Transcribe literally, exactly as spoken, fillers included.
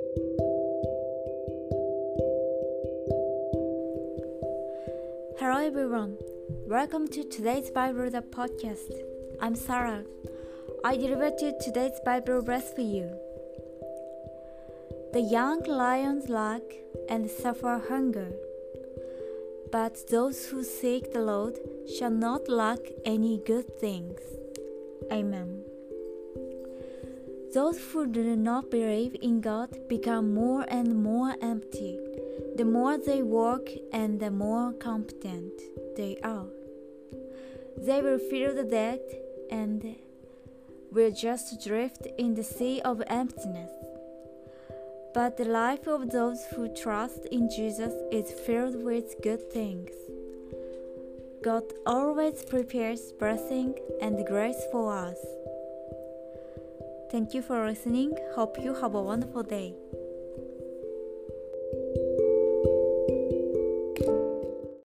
Hello everyone, welcome to today's Bible the podcast. I'm Sarah. I deliver to today's Bible verse for you. The young lions lack and suffer hunger, but those who seek the Lord shall not lack any good things. Amen. Those who do not believe in God become more and more empty. The more they work and the more competent they are. They will feel the dead and will just drift in the sea of emptiness. But the life of those who trust in Jesus is filled with good things. God always prepares blessing and grace for us. Thank you for listening. Hope you have a wonderful day.